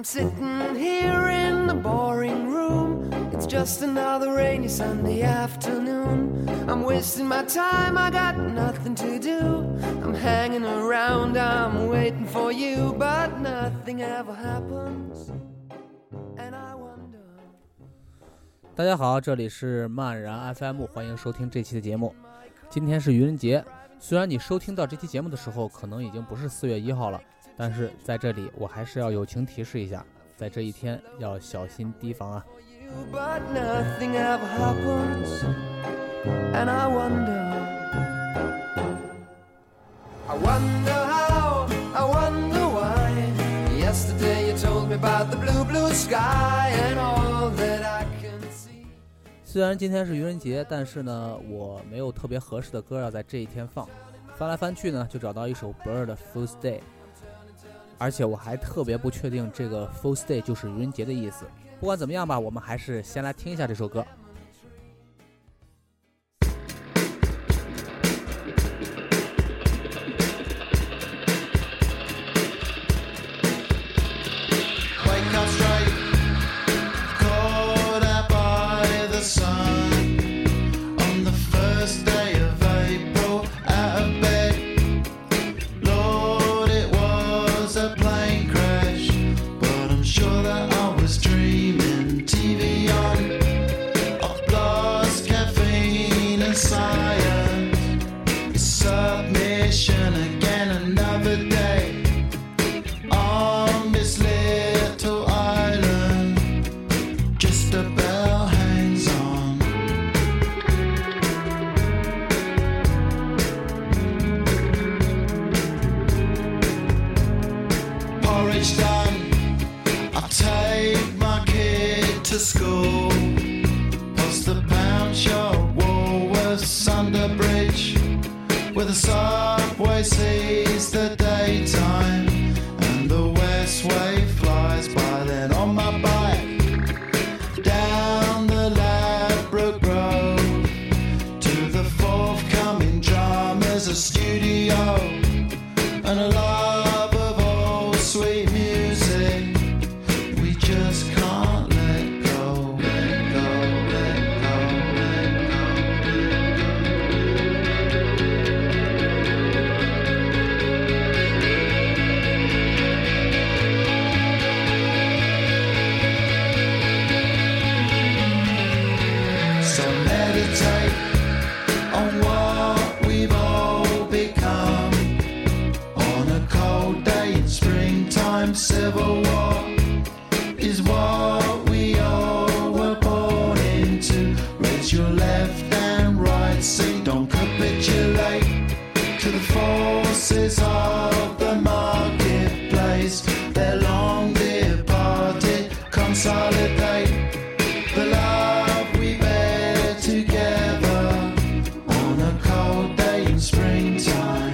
sitting here in the boring room. It's just another rainy Sunday afternoon. I'm wasting my time, I got nothing to do. I'm hanging around, I'm waiting for you, but nothing ever happens. And I wonder. 大家好，这里是漫然 FM， 欢迎收听这期的节目。今天是愚人节，虽然你收听到这期节目的时候可能已经不是4月1号了，但是在这里我还是要友情提示一下，在这一天要小心提防啊。 But nothing ever happens, and I wonder how, I wonder why. Yesterday you told me about the blue, blue sky and all that I can see. 虽然今天是愚人节，但是呢，我没有特别合适的歌要在这一天放。翻来翻去呢，就找到一首 Blur 的 Fool's Day， 而且我还特别不确定这个 Fool's Day 就是愚人节的意思。不管怎么样吧，我们还是先来听一下这首歌。 Civil war is what we all were born into. Raise your left and right, say don't capitulate to the forces of the marketplace. They're long departed, consolidate the love we bear together on a cold day in springtime.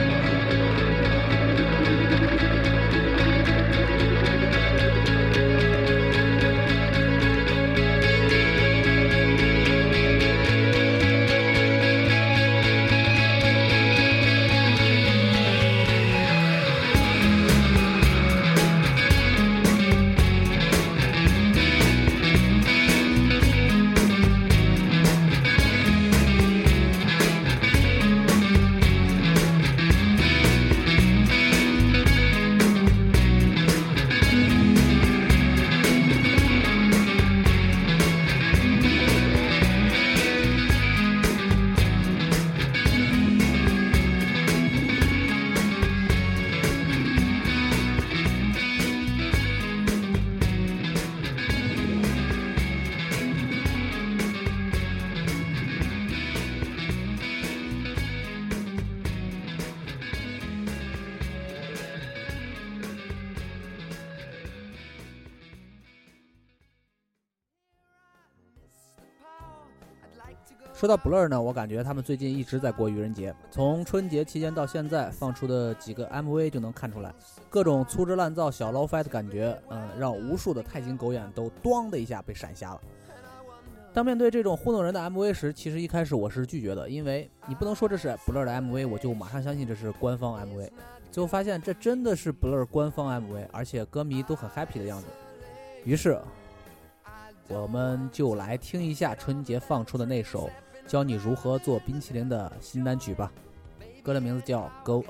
说到 Blur 呢，我感觉他们最近一直在过愚人节，从春节期间到现在放出的几个 MV 就能看出来，各种粗制滥造小 low-fi 的感觉，让无数的钛金狗眼都咣的一下被闪瞎了。当面对这种糊弄人的 MV 时，其实一开始我是拒绝的，因为你不能说这是 Blur 的 MV， 我就马上相信这是官方 MV。 最后发现这真的是 Blur 官方 MV， 而且歌迷都很 happy 的样子。于是我们就来听一下春节放出的那首教你如何做冰淇淋的新单曲吧，歌的名字叫 Go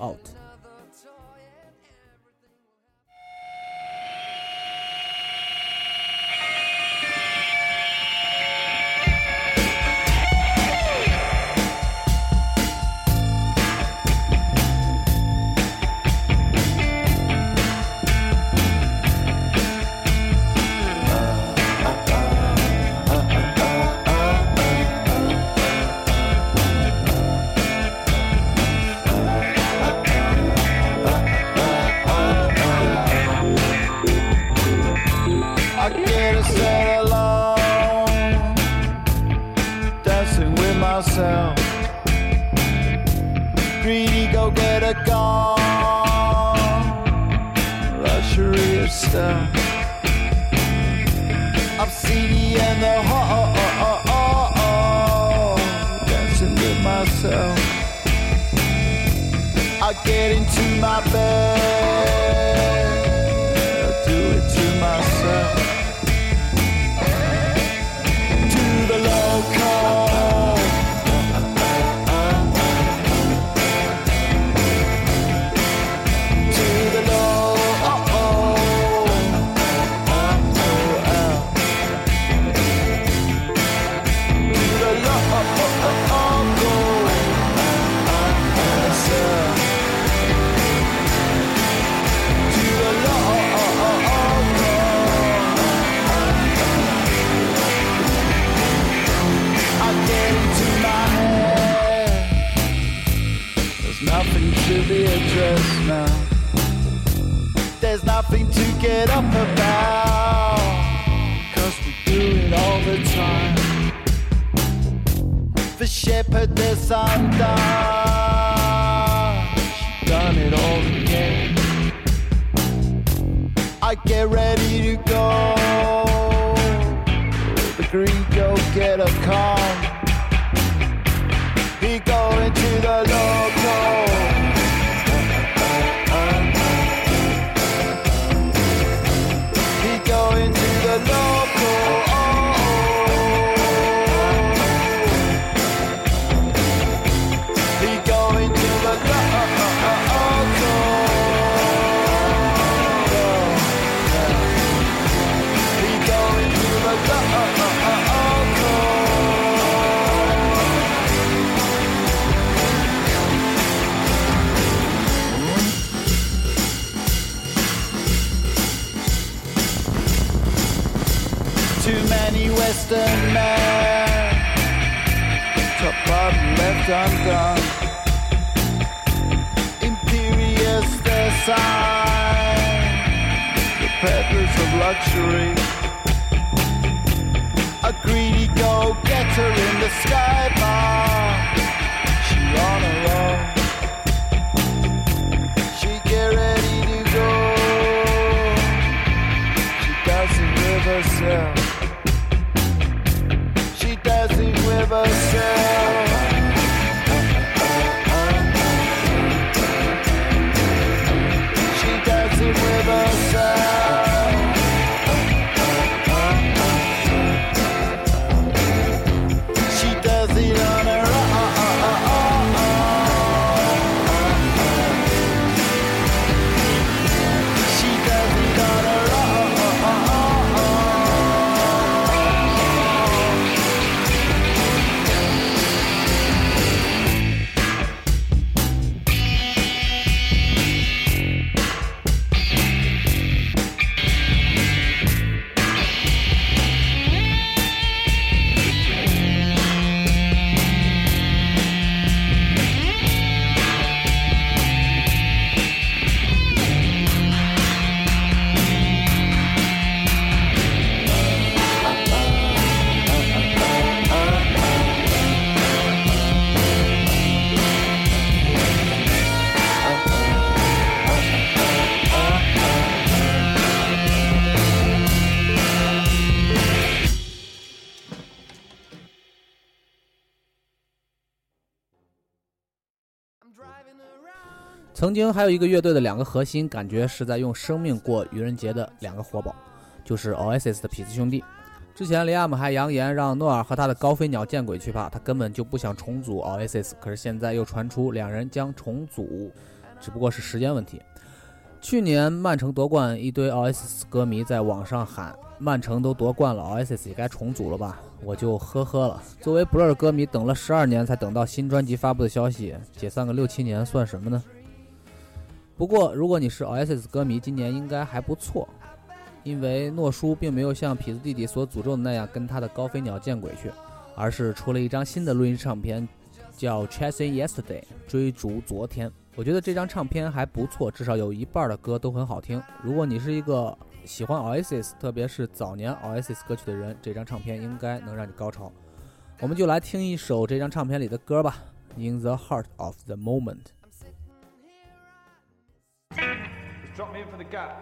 out.Greedy go-getter gone, luxury of stuff. I'm seedy and the dancing with myself. I get into my bed, I do it to myself. To the local.Nothing to be addressed now. There's nothing to get up about, 'cause we do it all the time. The shepherd that's undone, she's done it all again. I get ready to go, the green go-getter come. He go into the local. He go into the local. He go into the local. He go into the local.Too many Western men, top bottom left undone. Imperious their sign, the peddlers of luxury. A greedy go-getter in the sky bar. She on her own. She get ready to go. She does it with herself.She does it with herself. She does it with herself. She does it on her own. She does it on her own.She 曾经还有一个乐队的2个核心，感觉是在用生命过愚人节的2个活宝，就是 Oasis 的痞子兄弟。之前里亚姆还扬言让诺尔和他的高飞鸟见鬼去吧，他根本就不想重组 Oasis， 可是现在又传出2人将重组，只不过是时间问题。去年曼城夺冠，一堆 Oasis 歌迷在网上喊曼城都夺冠了， Oasis 也该重组了吧，我就呵呵了。作为 Blur 歌迷，等了12年才等到新专辑发布的消息，解散个6-7年算什么呢？不过如果你是 Oasis 歌迷，今年应该还不错，因为诺叔并没有像痞子弟弟所诅咒的那样跟他的高飞鸟见鬼去，而是出了一张新的录音唱片，叫 Chasing Yesterday 追逐昨天。我觉得这张唱片还不错，至少有一半的歌都很好听。如果你是一个喜欢 Oasis 特别是早年 Oasis 歌曲的人，这张唱片应该能让你高潮。我们就来听一首这张唱片里的歌吧， In the Heart of the Moment。 Drop me in for the gap.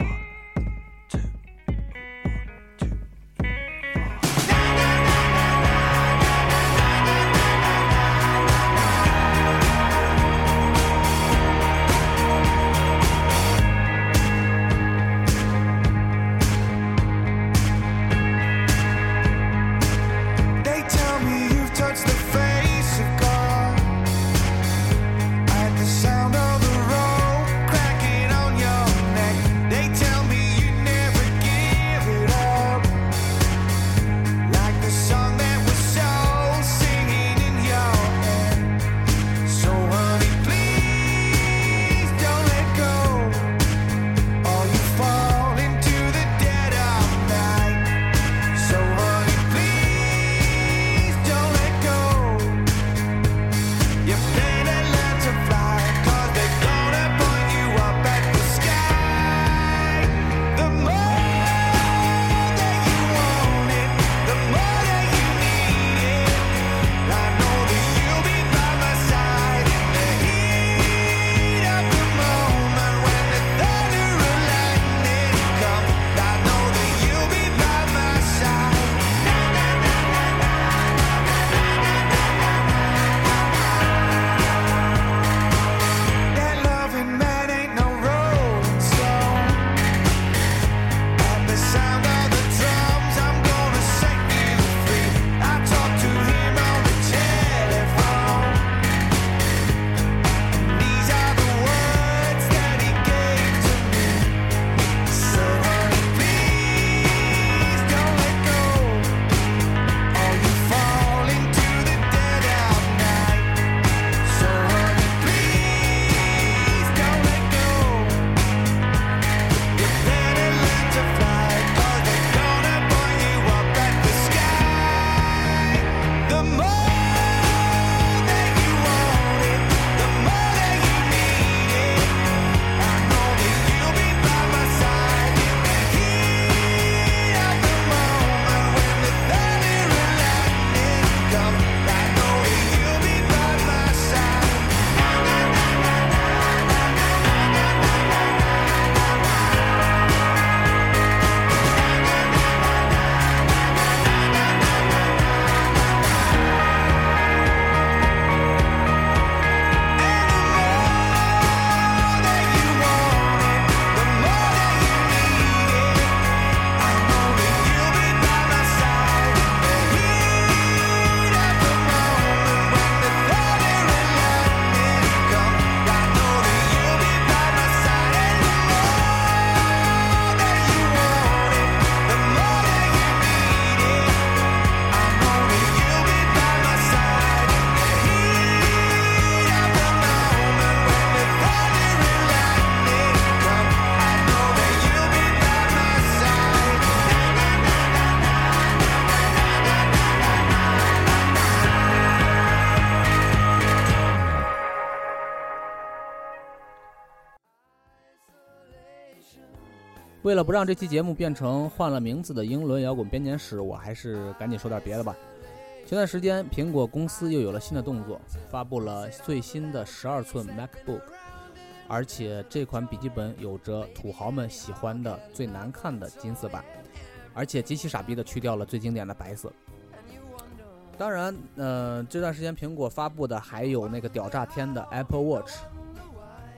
为了不让这期节目变成换了名字的英伦摇滚编年史，我还是赶紧说点别的吧。前段时间苹果公司又有了新的动作，发布了最新的12寸 MacBook， 而且这款笔记本有着土豪们喜欢的最难看的金色版，而且极其傻逼的去掉了最经典的白色。当然这段时间苹果发布的还有那个屌炸天的 Apple Watch，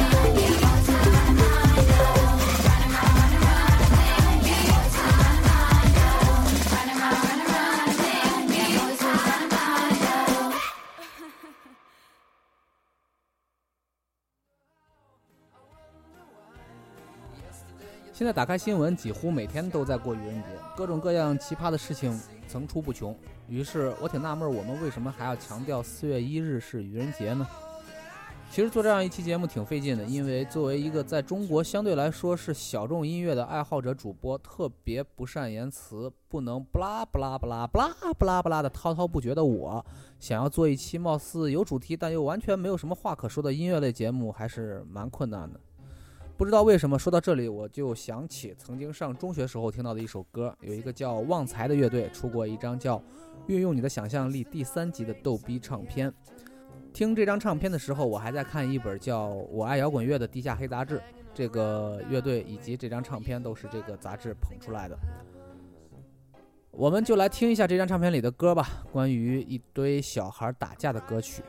现在打开新闻，几乎每天都在过愚人节，各种各样奇葩的事情层出不穷。于是我挺纳闷，我们为什么还要强调4月1日是愚人节呢？其实做这样一期节目挺费劲的，因为作为一个在中国相对来说是小众音乐的爱好者主播，特别不善言辞，不能不拉不拉不拉不拉不拉不拉的滔滔不绝的我，想要做一期貌似有主题但又完全没有什么话可说的音乐类节目，还是蛮困难的。不知道为什么说到这里，我就想起曾经上中学时候听到的一首歌，有一个叫旺财的乐队出过一张叫《运用你的想象力》第3集的逗逼唱片。听这张唱片的时候，我还在看一本叫《我爱摇滚乐》的地下黑杂志，这个乐队以及这张唱片都是这个杂志捧出来的。我们就来听一下这张唱片里的歌吧，关于一堆小孩打架的歌曲。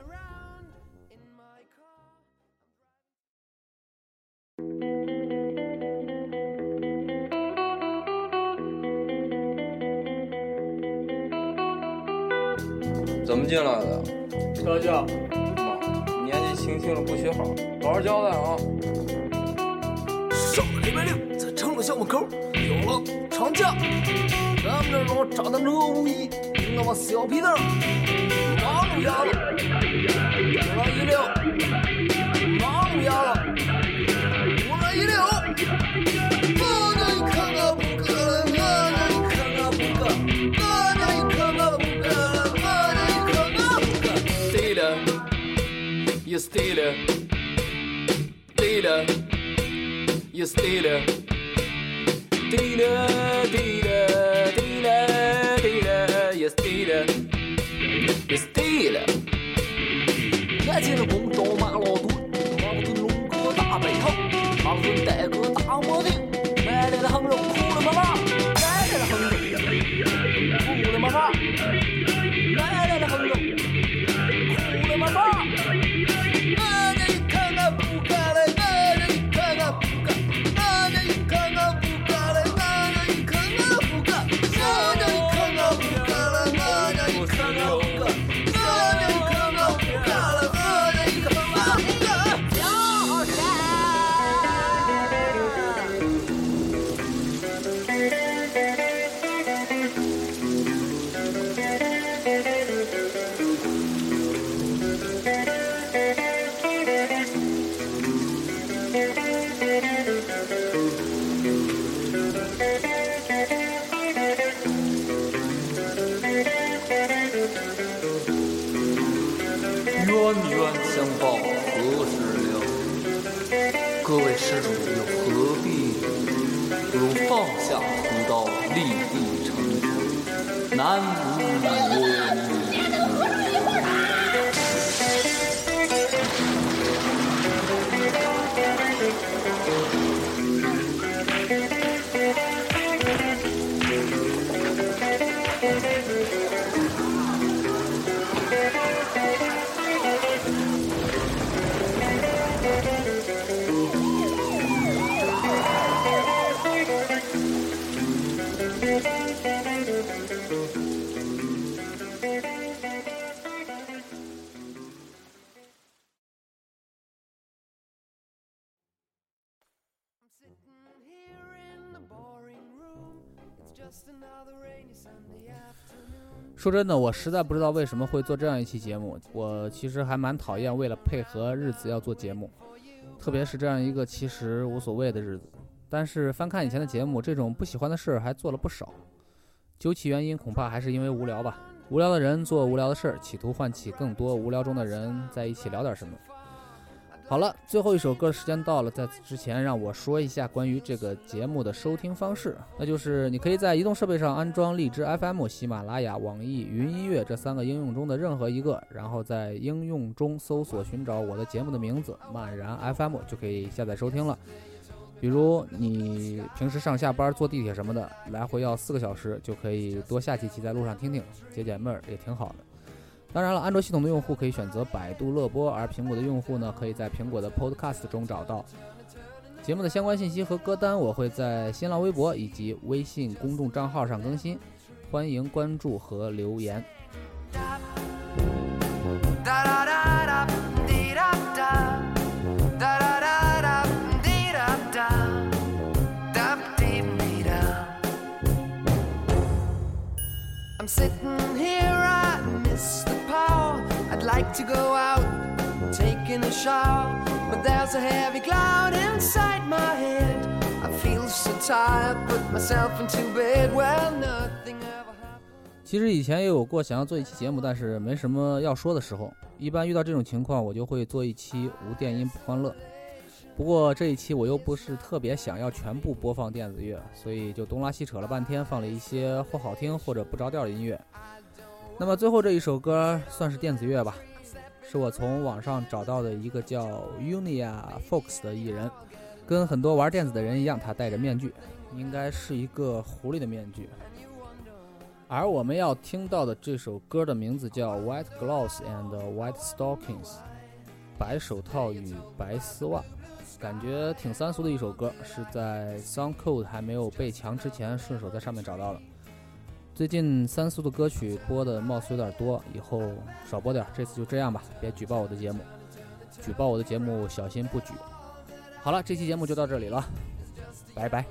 怎么进来的？ 特教， 年纪轻轻的不学好，好好交代啊！ 礼拜六在城楼校门口有了长假，咱们这儿老炸弹车无疑，那么小皮蛋马路牙了，我来一溜，马路牙了，我来一溜，我那一看啊不可了，我那一看啊不可，我那一看啊不可了，我那一看啊不可。Stealer, you stealer, stealer, you stealer, stealer, stealer, stealer, stealer, you stealer, you stealer。眼前的公州马老墩，马老墩龙哥大背头，马老墩带个大墨镜，买来的横肉哭了妈妈，买来的横肉哭了妈妈，买来的横肉哭了妈妈。我这一看啊不干了，我这一看啊不干，我这一看啊不干了，我这一看啊不干，我这一看啊不干了，我这一看啊不干，我这一看啊不干了，我这一看啊不干。冤冤相报何时了？各位施主又何必不如放下屠刀，立地成佛，南无阿弥陀说真的，我实在不知道为什么会做这样一期节目。我其实还蛮讨厌为了配合日子要做节目，特别是这样一个其实无所谓的日子。但是翻看以前的节目，这种不喜欢的事还做了不少。究其原因，恐怕还是因为无聊吧。无聊的人做无聊的事，企图唤起更多无聊中的人在一起聊点什么。好了，最后一首歌时间到了，在此之前让我说一下关于这个节目的收听方式，那就是你可以在移动设备上安装荔枝 FM、喜马拉雅、网易云音乐这3个应用中的任何一个，然后在应用中搜索寻找我的节目的名字漫然 FM 就可以下载收听了。比如你平时上下班坐地铁什么的，来回要4个小时，就可以多下几期在路上听听，解解闷儿也挺好的。当然了，安卓系统的用户可以选择百度乐播，而苹果的用户呢，可以在苹果的 Podcast 中找到。节目的相关信息和歌单我会在新浪微博以及微信公众账号上更新，欢迎关注和留言。 I'm sitting here, I miss the power. I'd like to go out, taking a shower, but there's a heavy cloud inside my head. I feel so tired, put myself into bed. Well, nothing ever happened. 其实以前也有过想要做一期节目，但是没什么要说的时候。一般遇到这种情况，我就会做一期无电音不欢乐。不过这一期我又不是特别想要全部播放电子乐，所以就东拉西扯了半天，放了一些或好听或者不着调的音乐。那么最后这一首歌算是电子乐吧，是我从网上找到的一个叫 Unia Fox 的艺人，跟很多玩电子的人一样，他戴着面具，应该是一个狐狸的面具。而我们要听到的这首歌的名字叫 White Gloves and White Stockings， 白手套与白丝袜，感觉挺三俗的一首歌，是在 SoundCloud 还没有被强之前顺手在上面找到的。最近三俗的歌曲播的貌似有点多，以后少播点，这次就这样吧，别举报我的节目，举报我的节目小心不举。好了，这期节目就到这里了。 拜拜。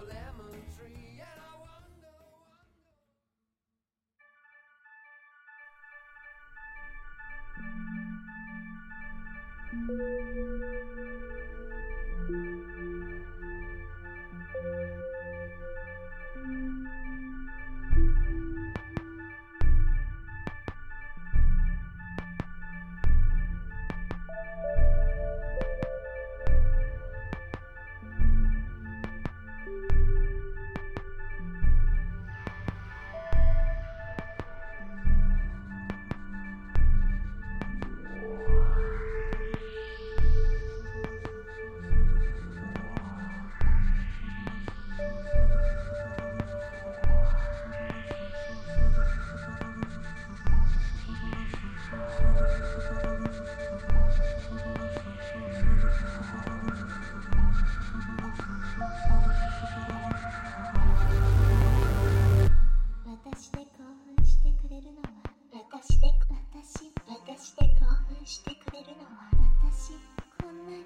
私で興奮してくれるのは私で興奮してくれるのは私こんなに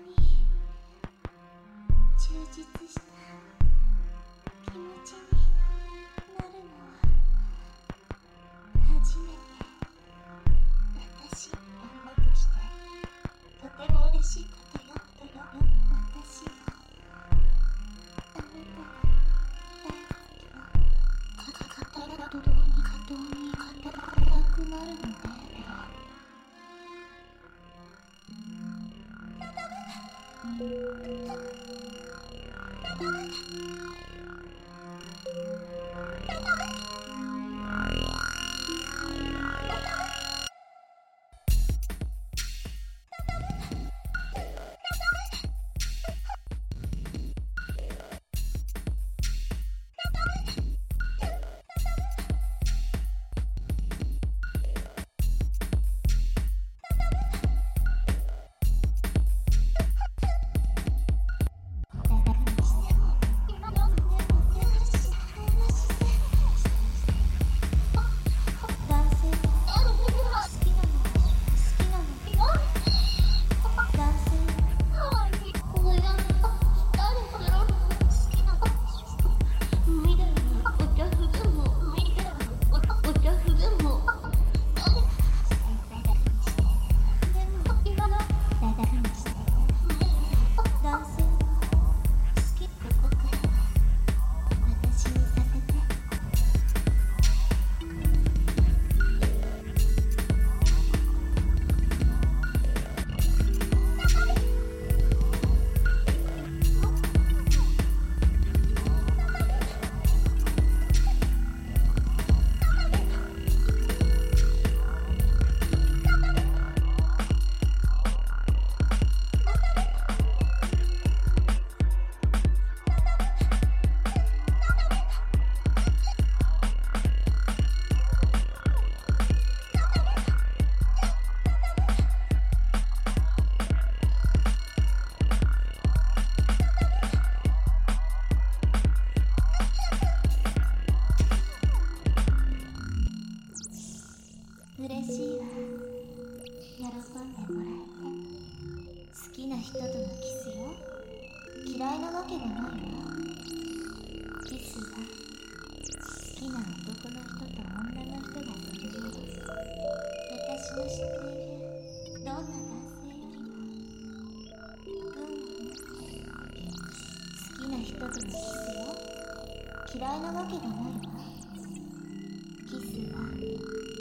充実した気持ちになるのは初めて私あなたとしてとても嬉しいことよ私あなたが大好きよ語りたくなるのね嬉しいわ喜んでもらえて好きな人とのキスよ嫌いなわけがないわキスは好きな男の人と女の人がするよ私の知っているどんな男性よりも好きな人とのキスよ嫌いなわけがないわキスは